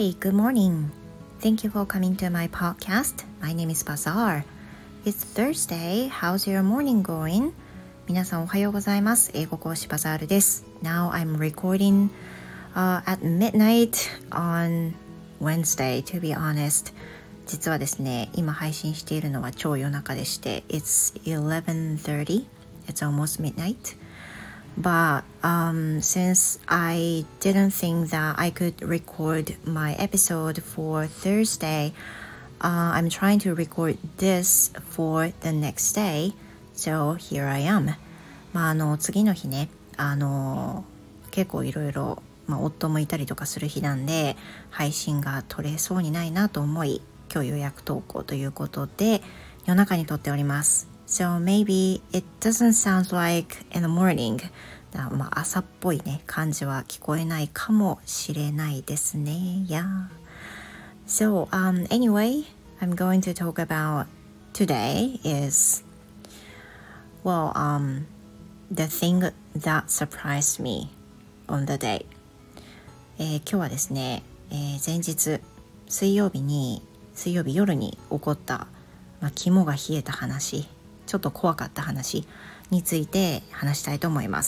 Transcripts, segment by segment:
Hi, good morning. Thank you for coming to my podcast. My name is Bazaar. It's Thursday. How's your morning going? 皆さんおはようございます。英語講師バザールです。Now I'm recording、at midnight on Wednesday, to be honest. 実はですね、今配信しているのは超夜中でして、It's 11:30. It's almost midnight.But since I didn't think that I could record my episode for Thursday, I'm trying to record this for the next day. So here I am. 次の日ね、結構いろいろ夫もいたりとかする日なんで配信が取れそうにないなと思い、今日予約投稿ということで夜中に撮っております。So maybe it doesn't sound like in the morning.朝っぽいね感じは聞こえないかもしれないですね。Yeah. So anyway, I'm going to talk about today is the thing that surprised me on the day. 今日はですね、前日水曜日夜に起こった、肝が冷えた話、ちょっと怖かった話について話したいと思います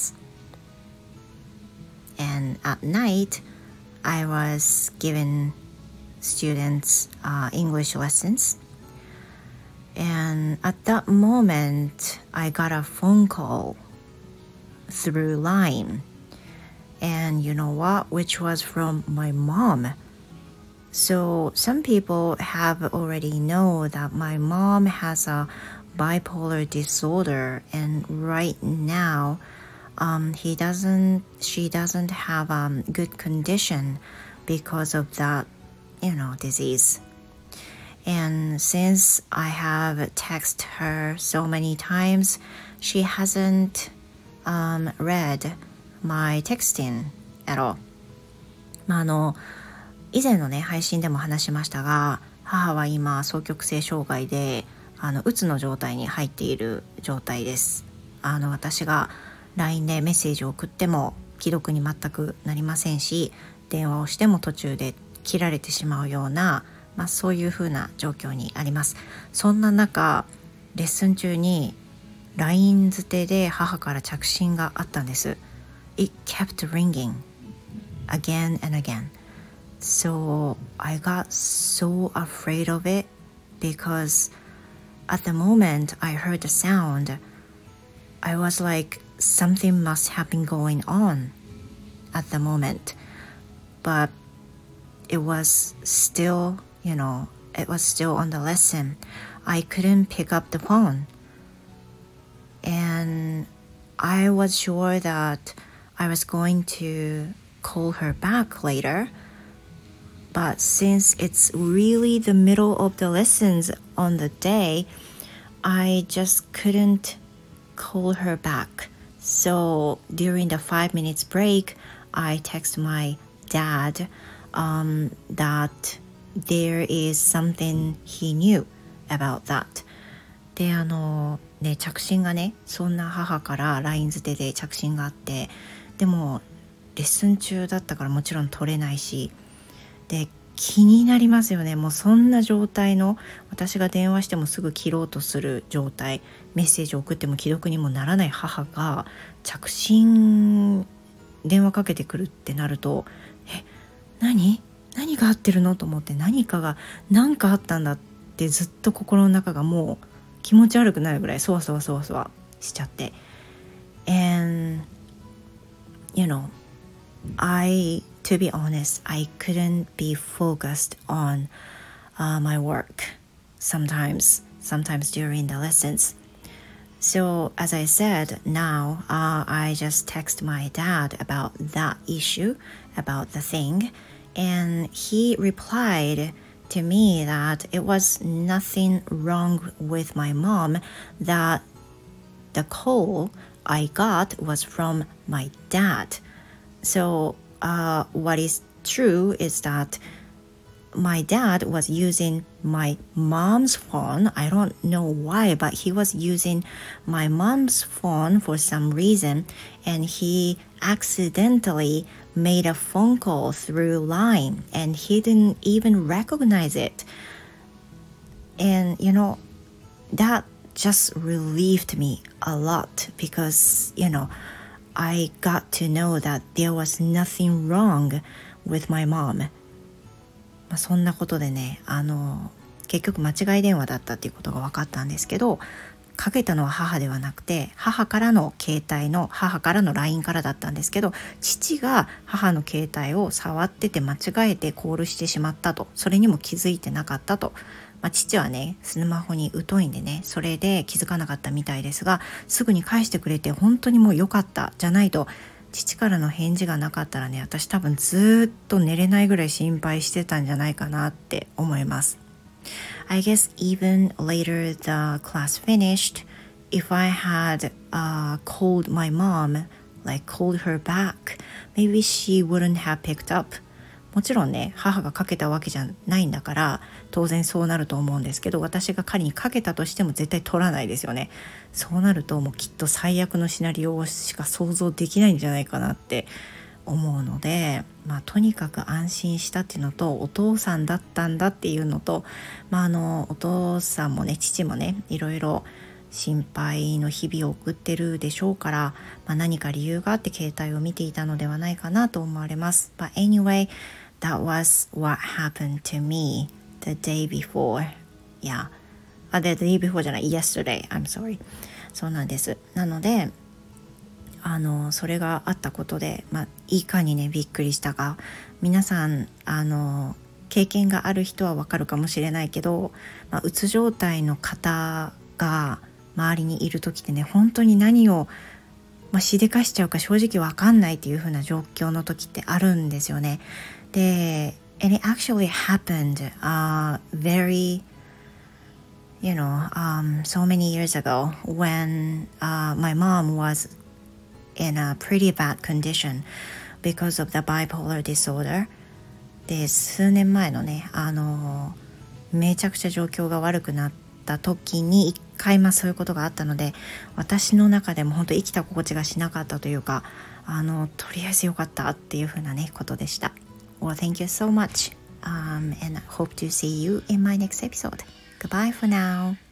。And at night, I was giving students English lessons. And at that moment, I got a phone call through Line. And you know what? Which was from my mom. So some people have already known that my mom has a bipolar disorder. And right now,she doesn't have good condition because of that, disease. And since I have texted her so many times, she hasn't read my texting at all. 以前のね配信でも話しましたが、母は今双極性障害でうつの状態に入っている状態です。私がLINE でメッセージを送っても既読に全くなりませんし、電話をしても途中で切られてしまうような、そういう風な状況にあります。そんな中、レッスン中に LINE 捨てで母から着信があったんです。It kept ringing again and again. So I got so afraid of it because at the moment I heard the sound, I was like,Something must have been going on at the moment, but it was still, it was still on the lesson. I couldn't pick up the phone. And I was sure that I was going to call her back later. But since it's really the middle of the lessons on the day, I just couldn't call her back.So during the 5 minutes break, I text my dad that there is something he knew about that. で、着信がね、そんな母から LINE 捨てで着信があって、でもレッスン中だったからもちろん取れないし、で、気になりますよね。もうそんな状態の、私が電話してもすぐ切ろうとする状態、メッセージを送っても既読にもならない母が着信電話かけてくるってなると、何があってるのと思って、何かあったんだってずっと心の中がもう気持ち悪くなるぐらいそわそわしちゃって、 and to be honest, I couldn't be focused on my work sometimes during the lessons. So as I said, now I just text my dad about that issue, about the thing, and he replied to me that it was nothing wrong with my mom, that the call I got was from my dad. So what is true is that my dad was using my mom's phone. I don't know why, but he was using my mom's phone for some reason, and he accidentally made a phone call through Line, and he didn't even recognize it. And that just relieved me a lot because I got to know that there was nothing wrong with my mom. そんなことでね、結局間違い電話だったっていうことが分かったんですけど、かけたのは母ではなくて、母からの LINE からだったんですけど、父が母の携帯を触ってて間違えてコールしてしまったと、それにも気づいてなかったと。父はねスマホに疎いんでね、それで気づかなかったみたいですが、すぐに返してくれて本当にもう良かった。じゃないと父からの返事がなかったらね、私多分ずっと寝れないぐらい心配してたんじゃないかなって思います。I guess even later the class finished, if I had called my mom, like called her back, maybe she wouldn't have picked up. もちろんね、母がかけたわけじゃないんだから当然そうなると思うんですけど、私が仮にかけたとしても絶対取らないですよね。そうなるともうきっと最悪のシナリオしか想像できないんじゃないかなって思うので、とにかく安心したっていうのと、お父さんだったんだっていうのと、お父さんもね父もねいろいろ心配の日々を送ってるでしょうから、何か理由があって携帯を見ていたのではないかなと思われます。But anyway, that was what happened to me the day before. Yeah. The day before じゃない、yesterday. I'm sorry. そうなんです。なので、それがあったことで、いかにねびっくりしたか、皆さん経験がある人はわかるかもしれないけど、うつ状態の方が周りにいる時ってね、本当に何を、しでかしちゃうか正直わかんないっていう風な状況の時ってあるんですよね。で、and it actually happened very so many years ago when my mom was in a pretty bad condition because of the bipolar disorder. で、数年前のねめちゃくちゃ状況が悪くなった時に一回そういうことがあったので、私の中でも本当生きた心地がしなかったというか、とりあえずよかったっていう風なねことでした。Well, thank you so much, and I hope to see you in my next episode. Goodbye for now.